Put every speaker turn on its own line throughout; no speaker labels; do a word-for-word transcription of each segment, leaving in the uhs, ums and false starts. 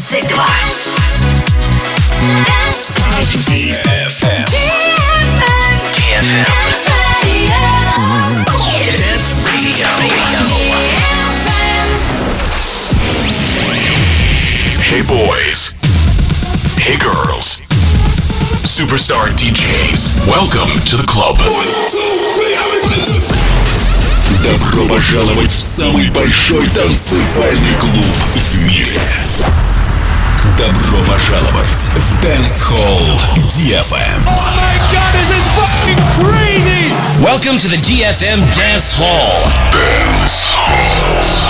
двадцать два.
ди эф эм.
ди эф эм. Dance Radio.
Hey boys. Hey girls. Superstar ди джейс. Welcome to the club. Добро пожаловать в самый большой танцевальный клуб в мире. Добро пожаловать в Dance Hall ди эф эм.
Oh my god, this is fucking crazy!
Welcome to the ди эф эм Dance Hall.
Dance Hall.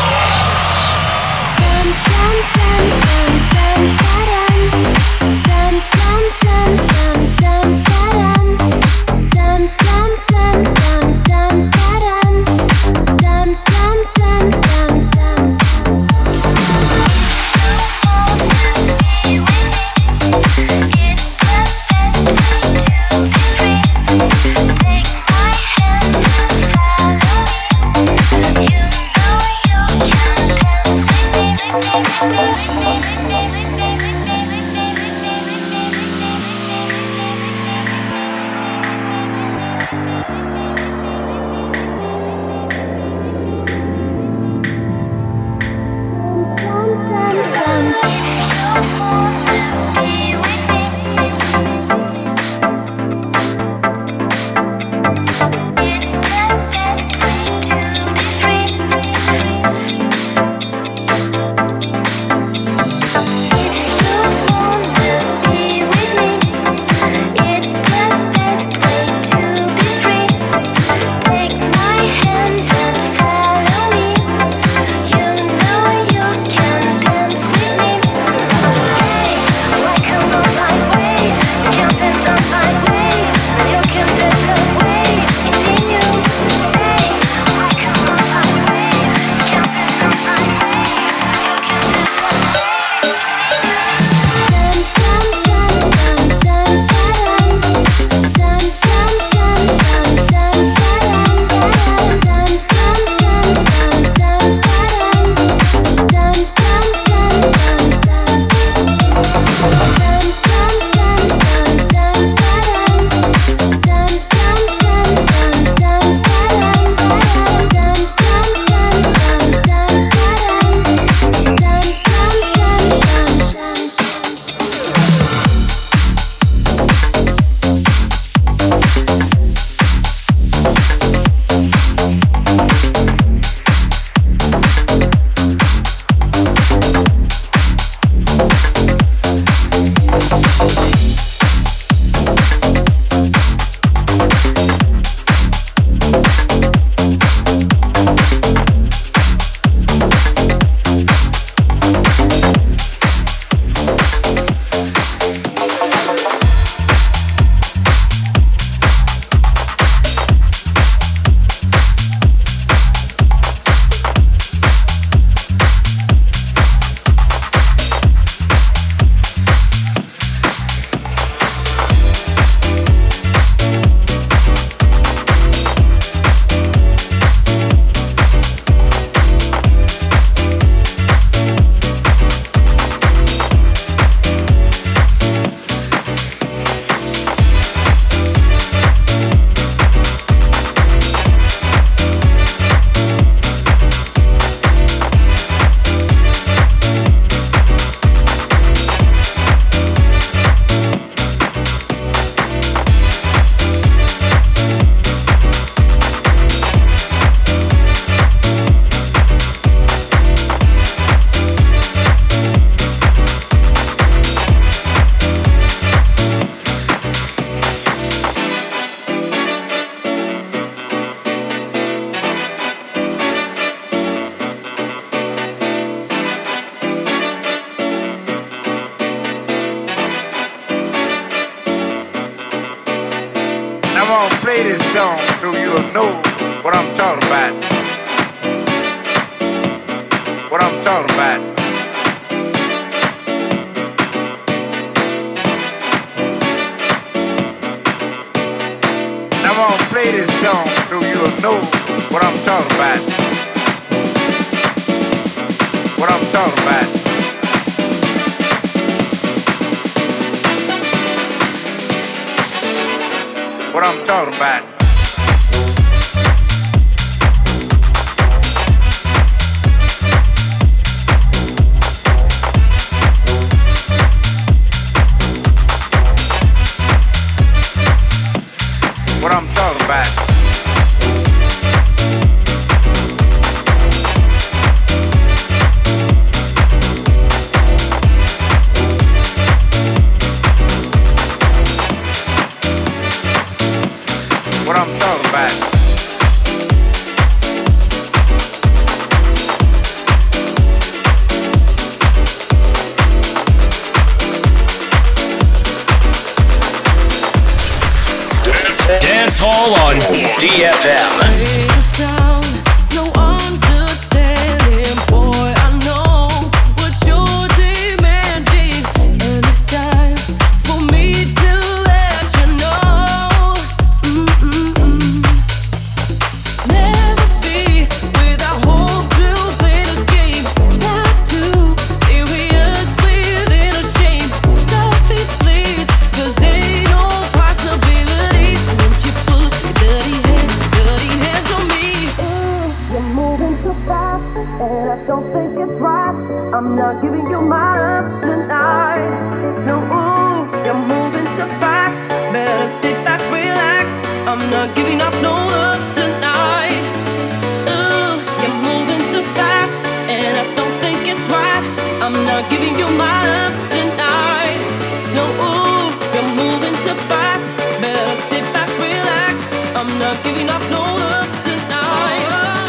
Play this song so you'll know what I'm talking about. What I'm talking about. I'm gonna play this song so you'll know what I'm talking about. What I'm talking about. what I'm talking about. What I'm talking about. What I'm talking about.
Dance Hall on D F M.
I'm not giving you my love tonight. No, ooh, you're moving too fast. Better sit back, relax. I'm not giving up no love tonight. Ooh, you're moving too fast, and I don't think it's right. I'm not giving you my love tonight. No, ooh, you're moving too fast. Better sit back, relax. I'm not giving up no love tonight.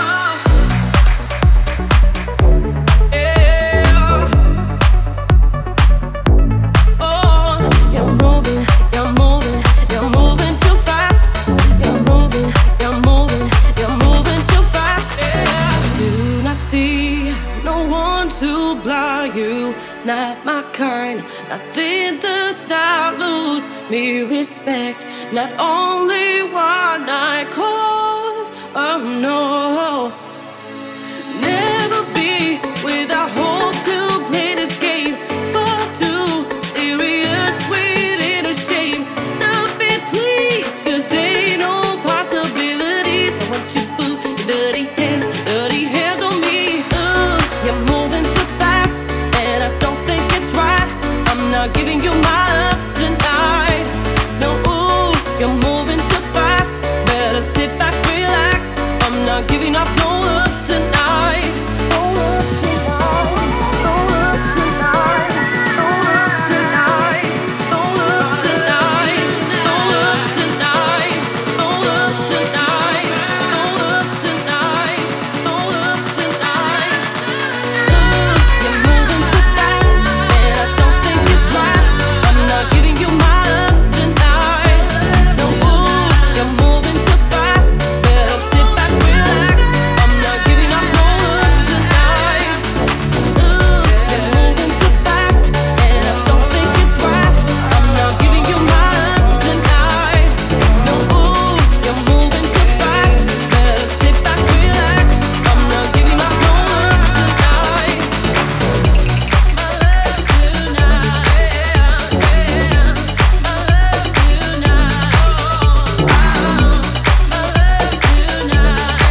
Not my kind, nothing does not lose me respect. Not only one night calls, oh no. Never be without hope to play this game. Far too serious, waiting a shame. Stop it please, cause ain't no possibilities. I want you boo, your dirty hands, dirty hands on me. Ooh, you're moving too fast, and I don't think it's right. I'm not giving you my love tonight. No, ooh, you're moving too fast. Better sit back, relax. I'm not giving up no love tonight. No love tonight. No love tonight. No love tonight. No love tonight. No love tonight. No love tonight. No love tonight. No love tonight. Ooh, you're moving too fast, and I don't think it's right. I'm not giving you my love tonight. No, ooh, you're moving too fast. Better sit back, relax. I'm not giving up no love tonight. Ooh, you're moving too fast, and I don't think it's right. I'm not giving you my love tonight. No, ooh, you're moving too fast. Better sit back, relax. I'm not giving up no love tonight. My love tonight, yeah. My love tonight, oh, my love tonight, yeah.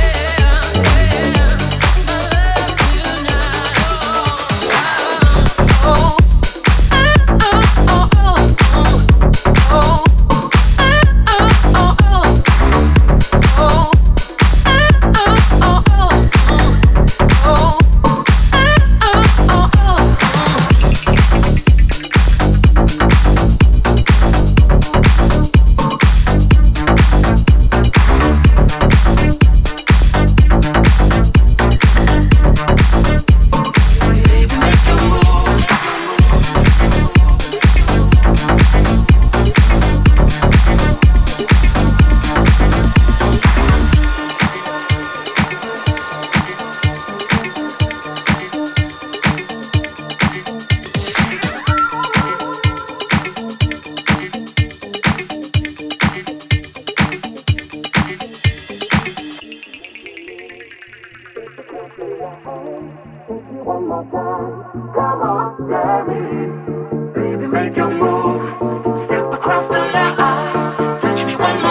My One more time, come on, Danny. Baby, make your move. Step across the line. Touch me one more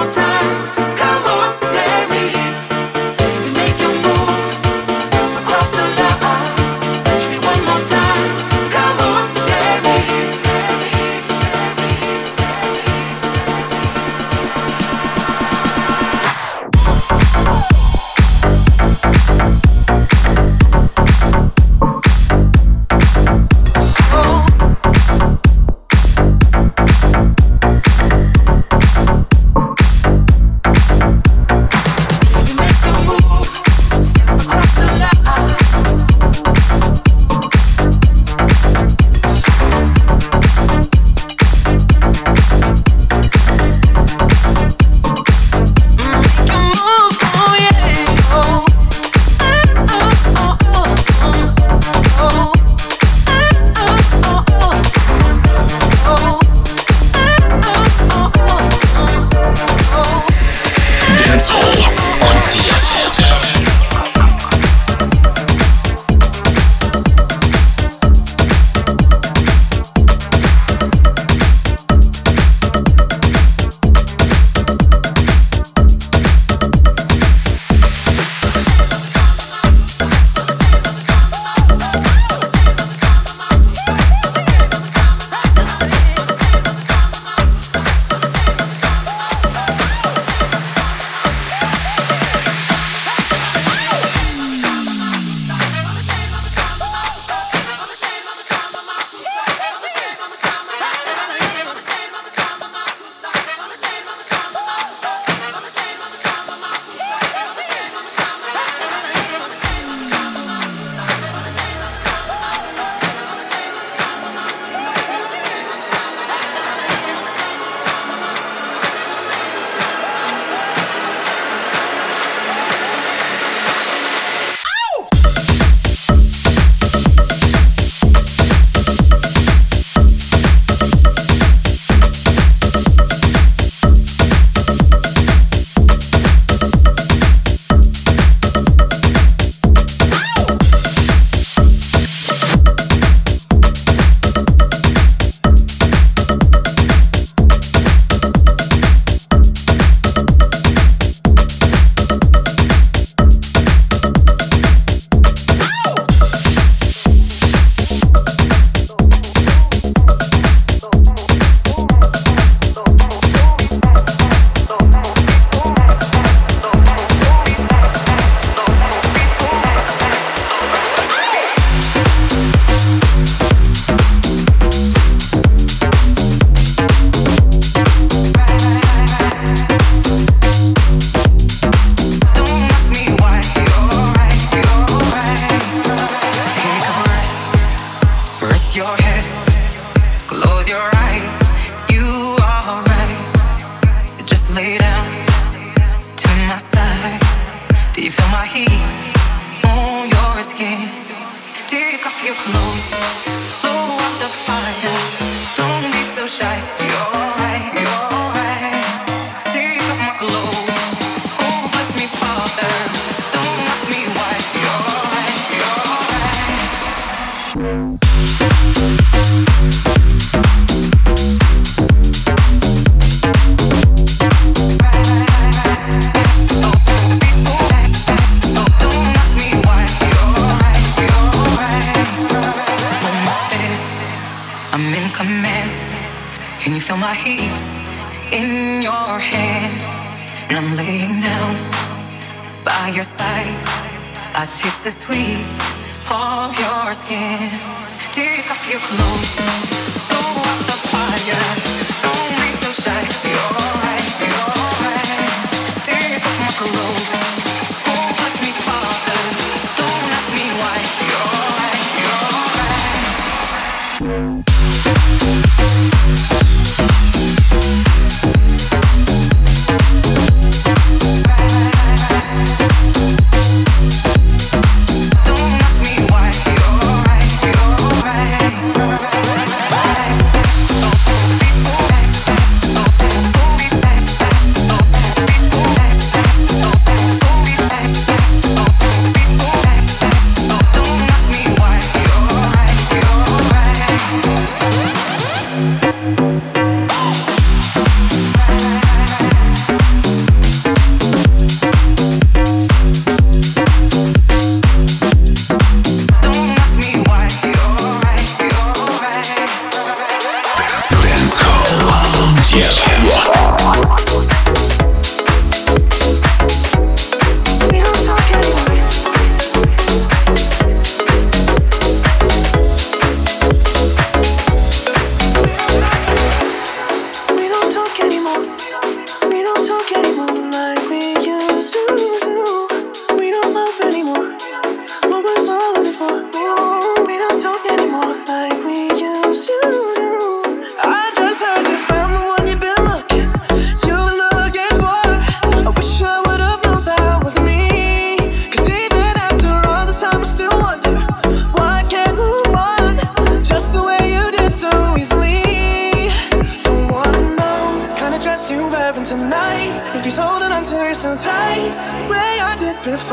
Right.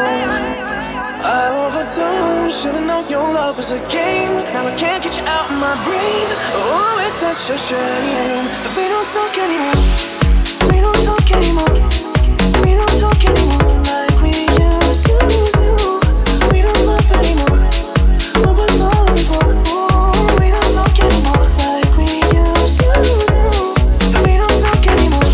I overdosed, should've known your love was a game. Now I can't get you out of my brain. Oh, it's such a shame that we don't talk anymore. We don't talk anymore. We don't talk anymore like we used to do. We don't love anymore. What was all in for? Oh, we don't talk anymore like we used to do. We don't talk anymore.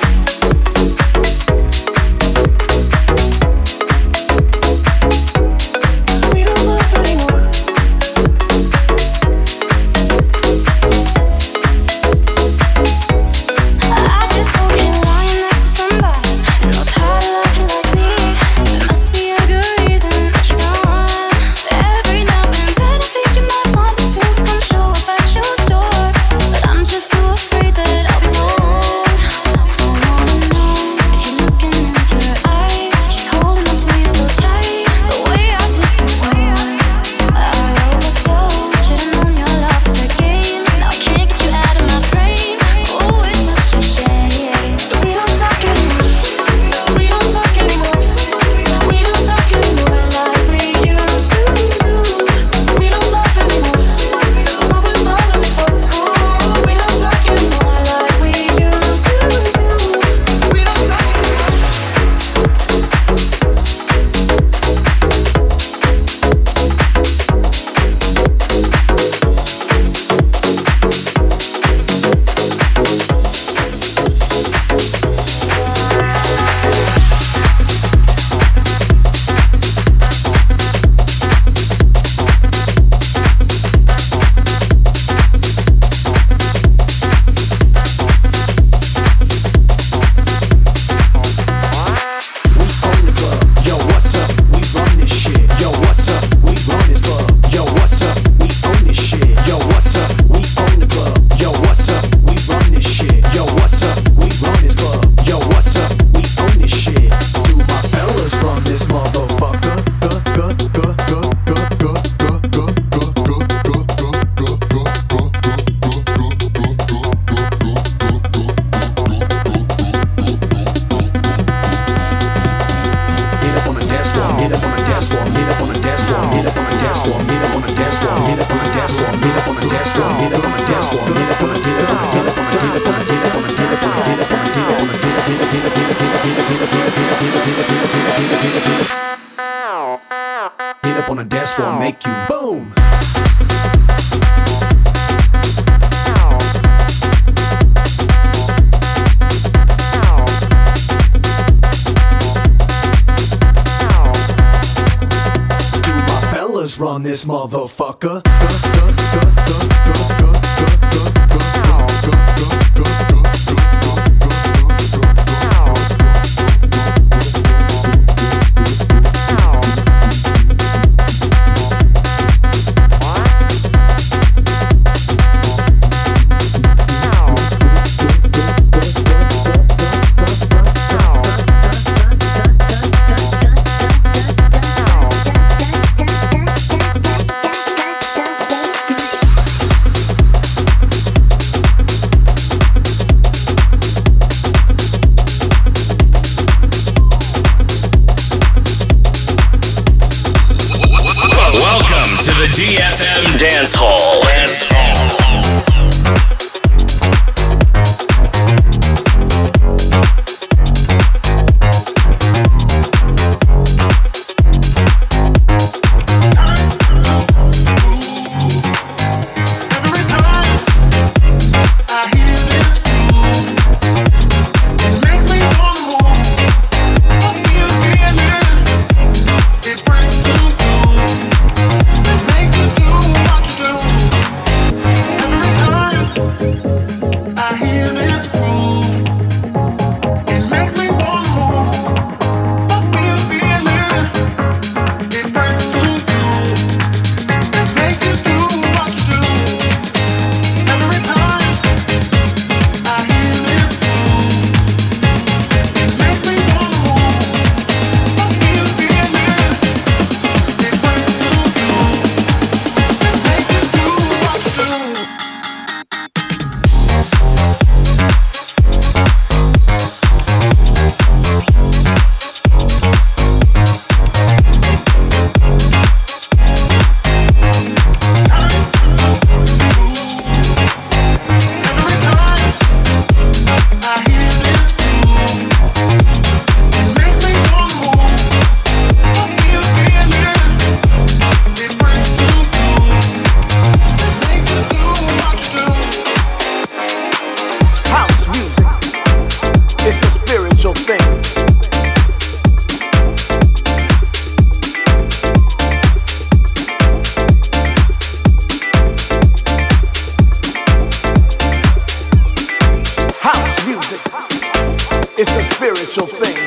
Run this motherfucker.
D F M Dance Hall. Dance Hall.
spiritual thing.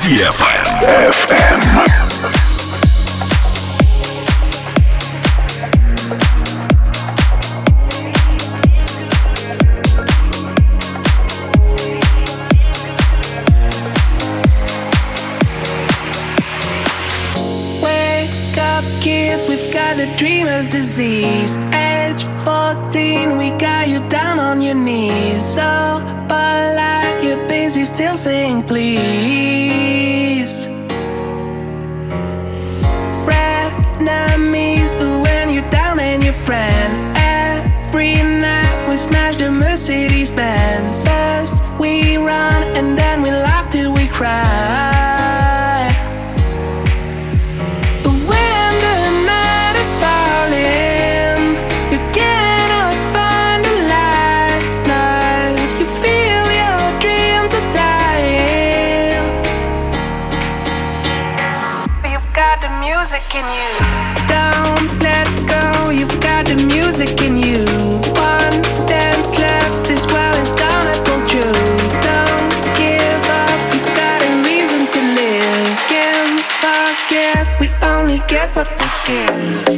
ди эф эм.
Kids, we've got the dreamer's disease. Age fourteen, we got you down on your knees. So polite, you're busy still saying please. Frenemies, when you're down and your friend. Every night we smash the Mercedes Benz. First we run and then we laugh till we cry. Music in you. Don't let go, you've got the music in you. One dance left, this world is gonna pull through. Don't give up, you've got a reason to live. Can't forget, we only get what we give.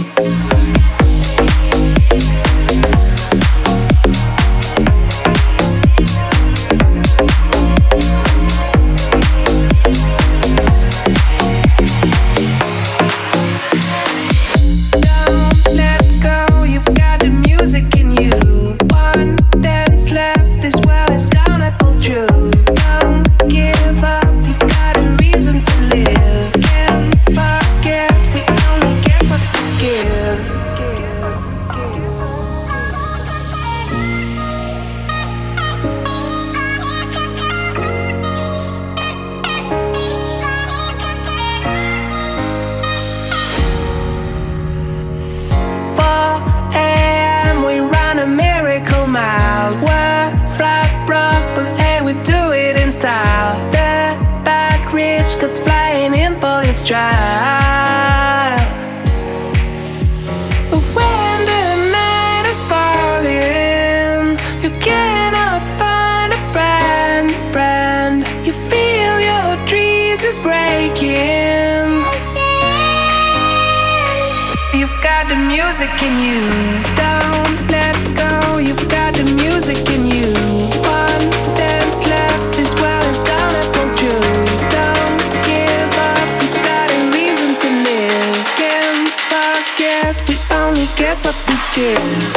Flying in for your trial. But when the night is falling, you cannot find a friend, friend. You feel your dreams is breaking. You've got the music in you. Don't let go, you've got the music in you. One dance left, this world is gonna pull through. Don't we only get what we give.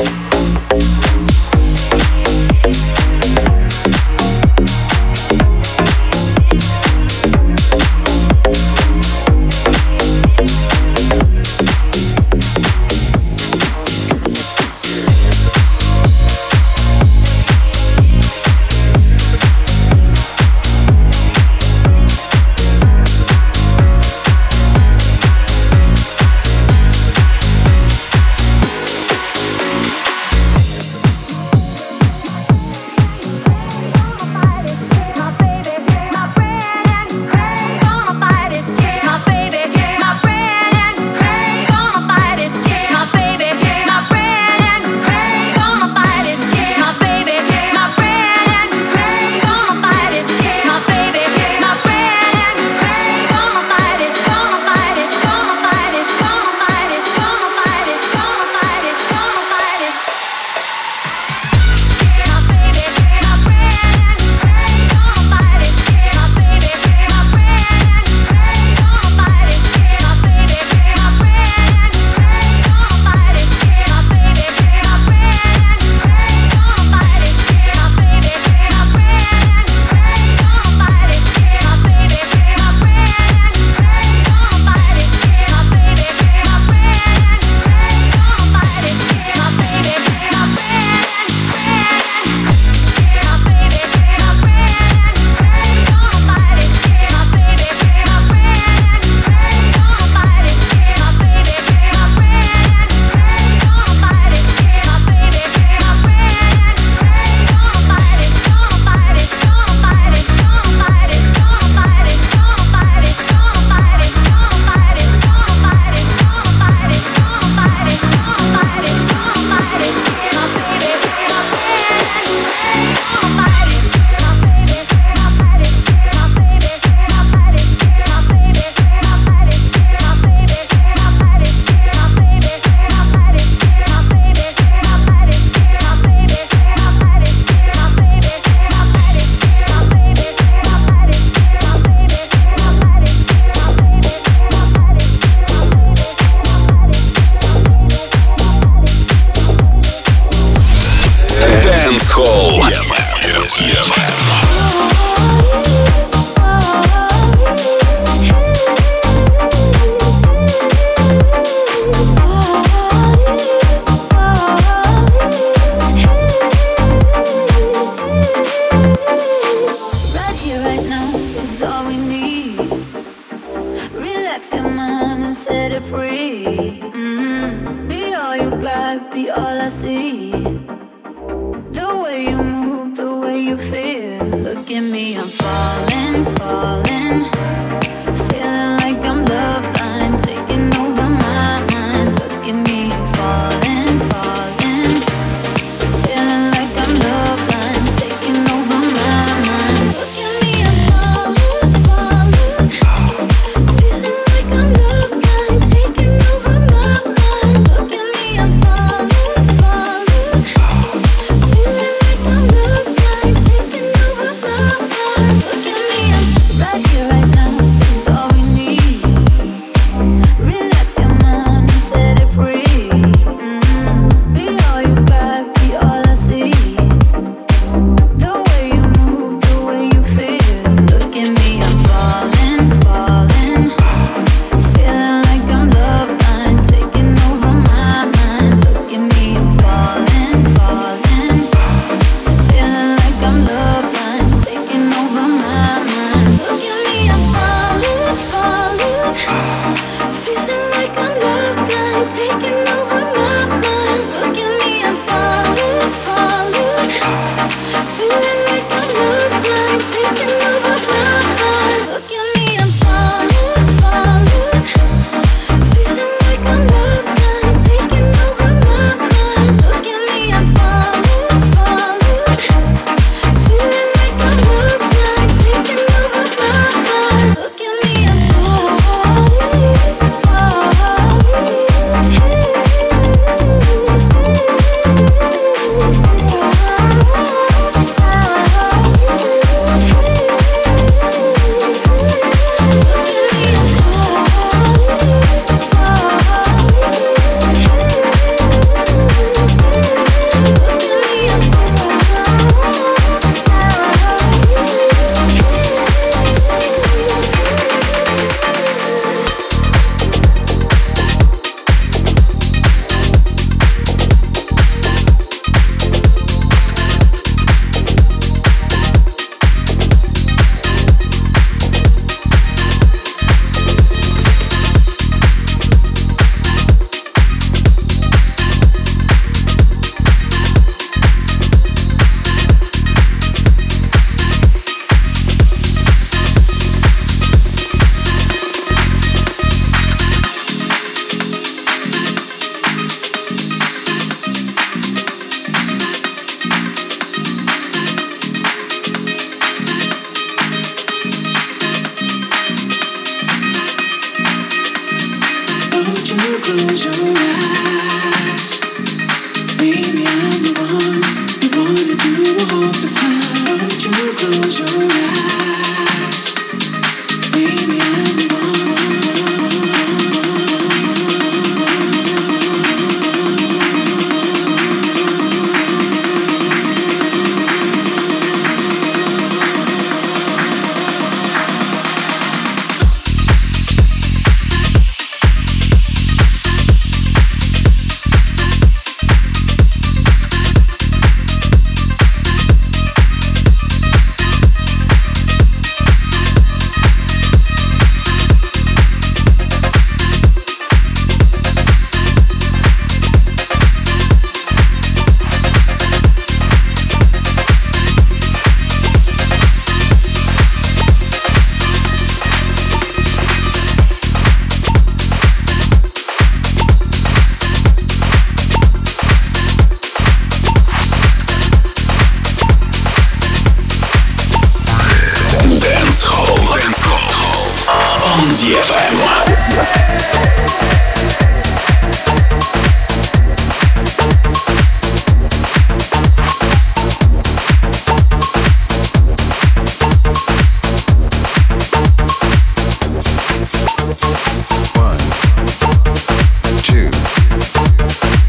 ди эф эм.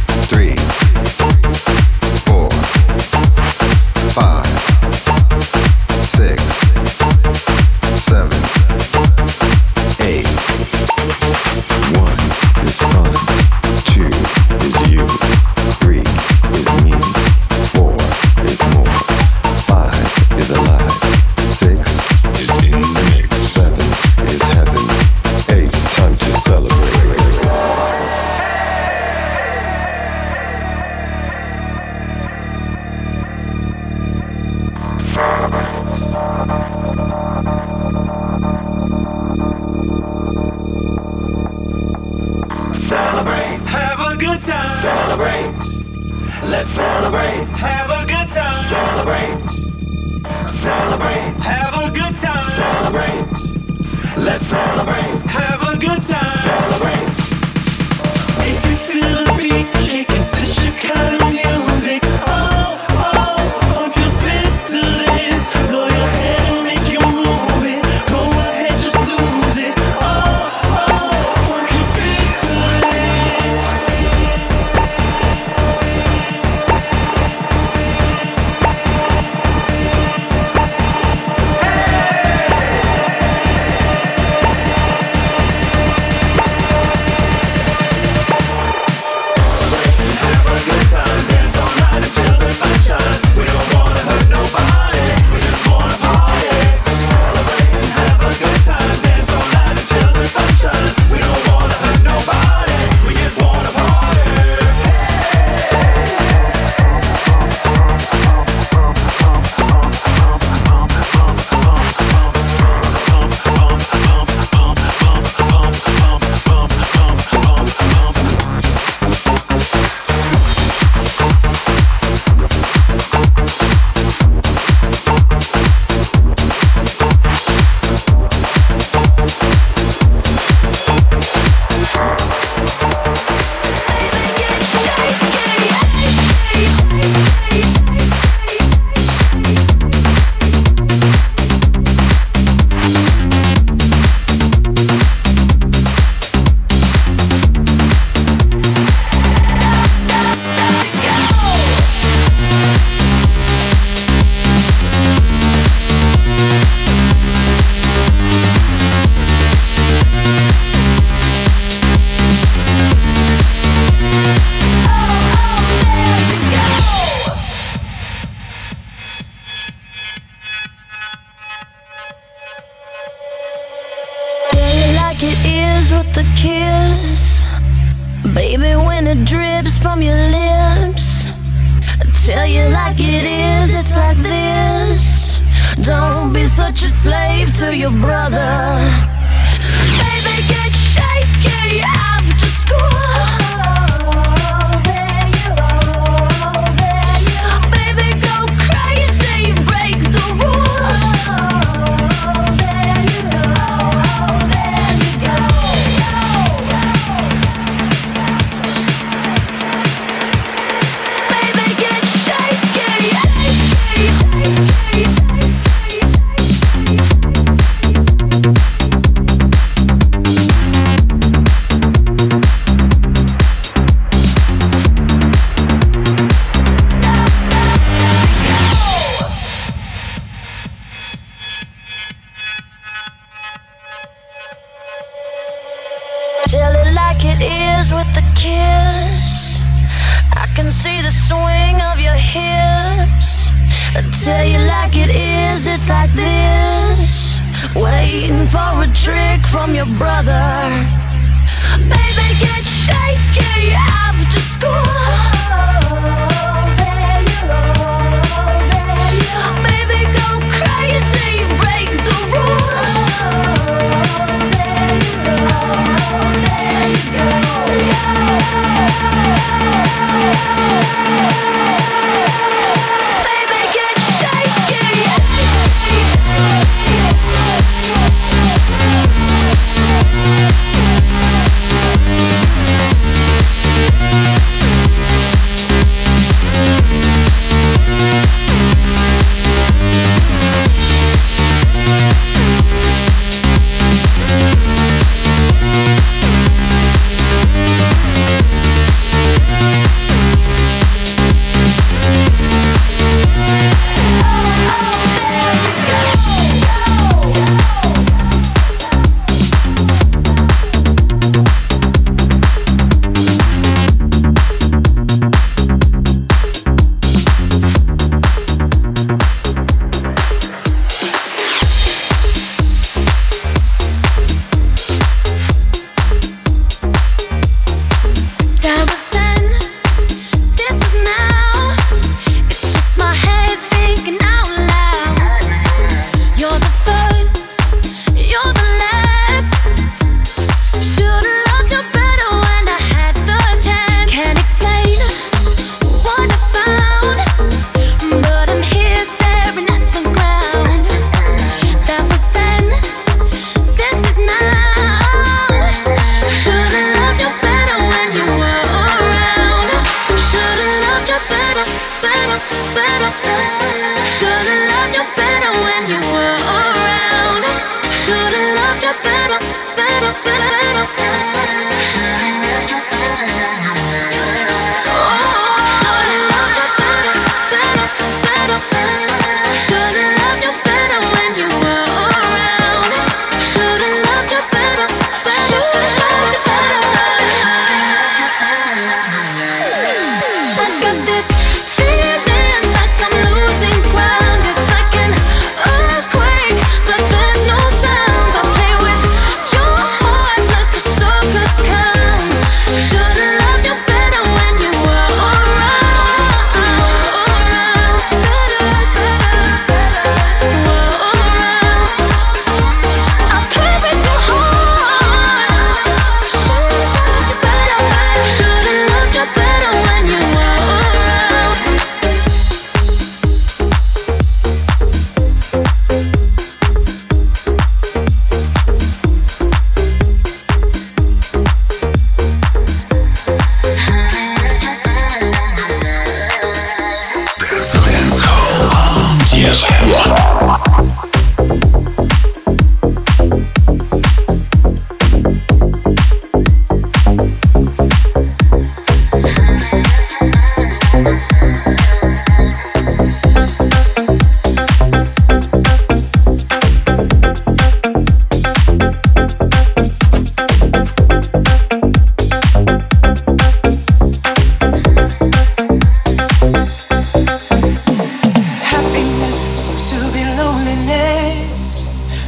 Five, Let's celebrate. Have a good time. Celebrate. If you feel the beat kick, is this your kind of music? Oh, oh, pump your fist to this. Blow your head and make you move it. Go ahead, just lose it. Oh, oh, pump your fist to this.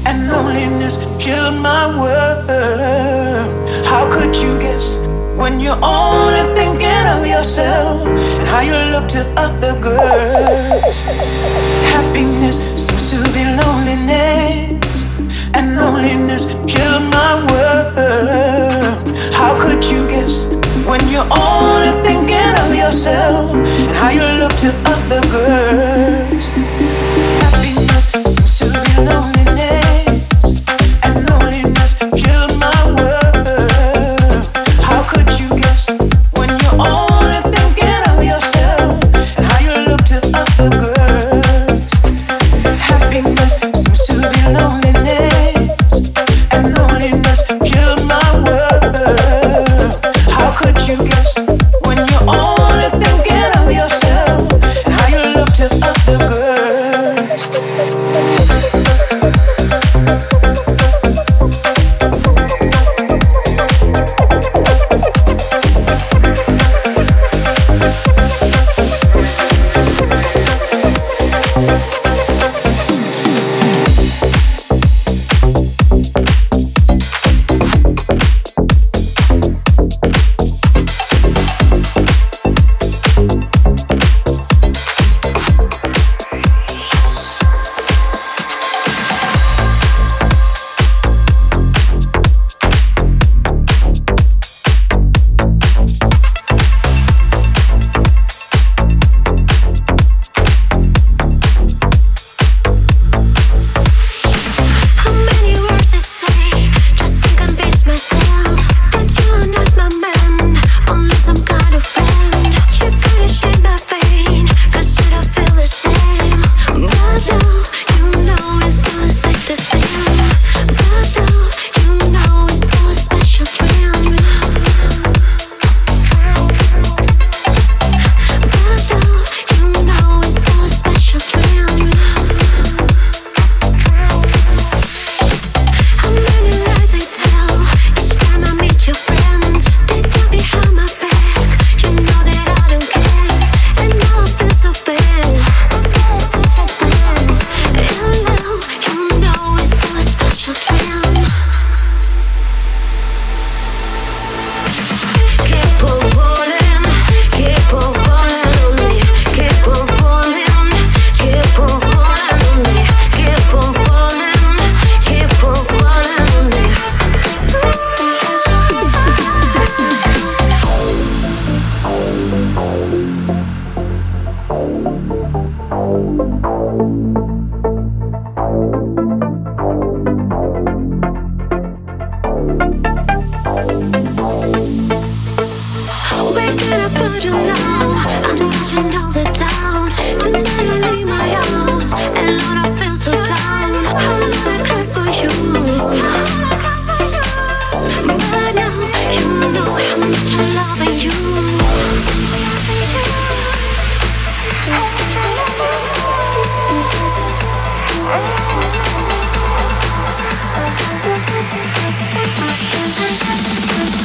and loneliness killed my world. How could you guess when you're only thinking of yourself and how you look to other girls? Happiness seems to be loneliness, and loneliness killed my world. How could you guess when you're only thinking of yourself and how you look to other girls? Happiness seems to be loneliness, and loneliness killed my world. How could you guess when you're only thinking of yourself and how you look to other girls? Happiness seems to be loneliness, and loneliness killed my world. How could you guess when you're only thinking of yourself and how you look to other girls?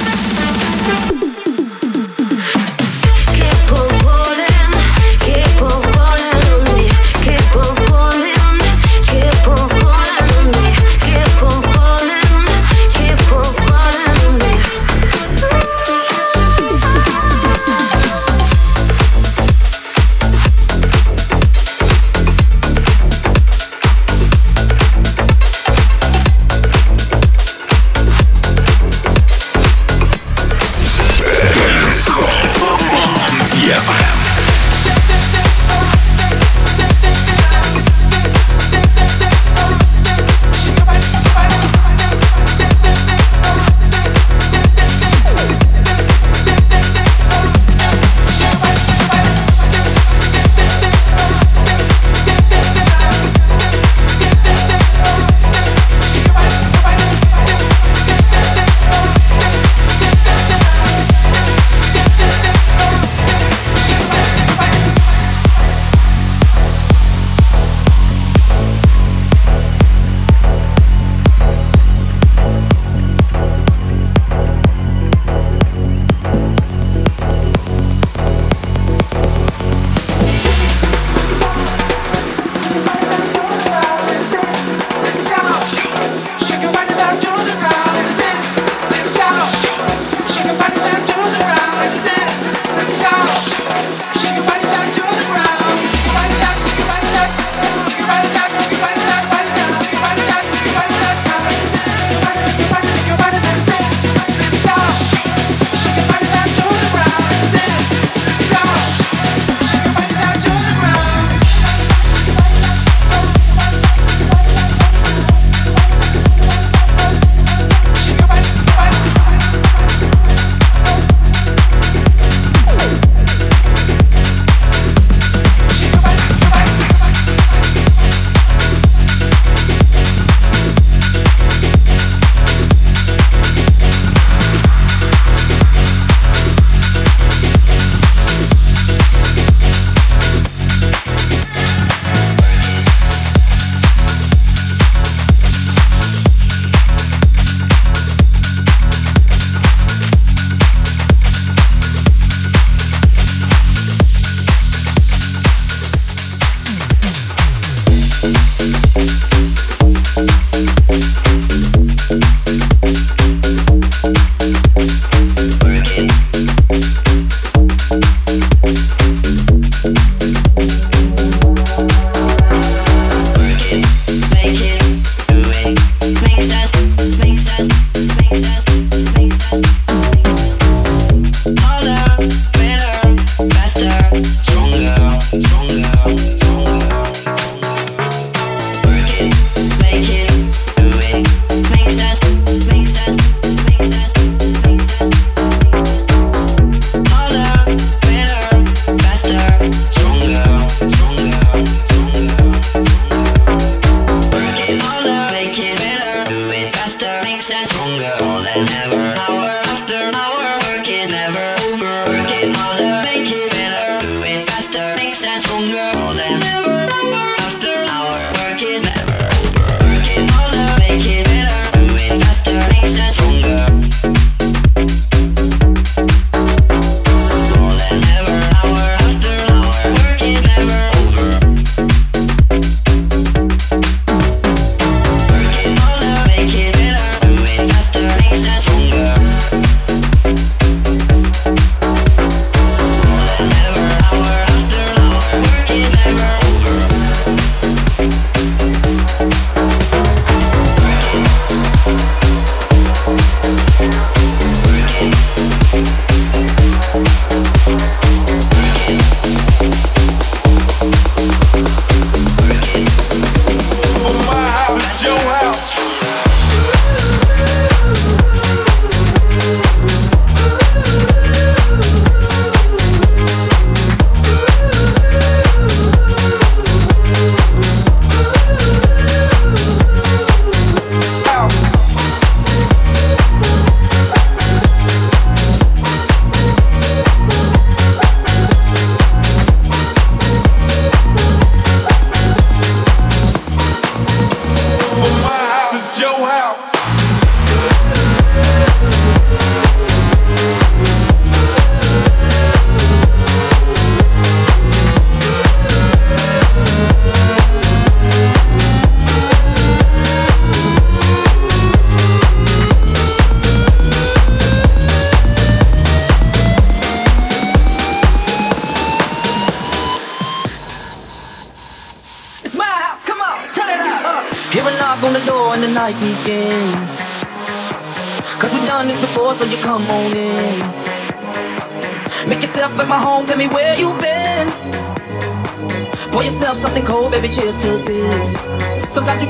Keep on falling, keep on
Hear a knock on the door and the night begins. Cause we've done this before, so you come on in. Make yourself at my home, tell me where you've been. Pour yourself something cold, baby, cheers to this. Sometimes you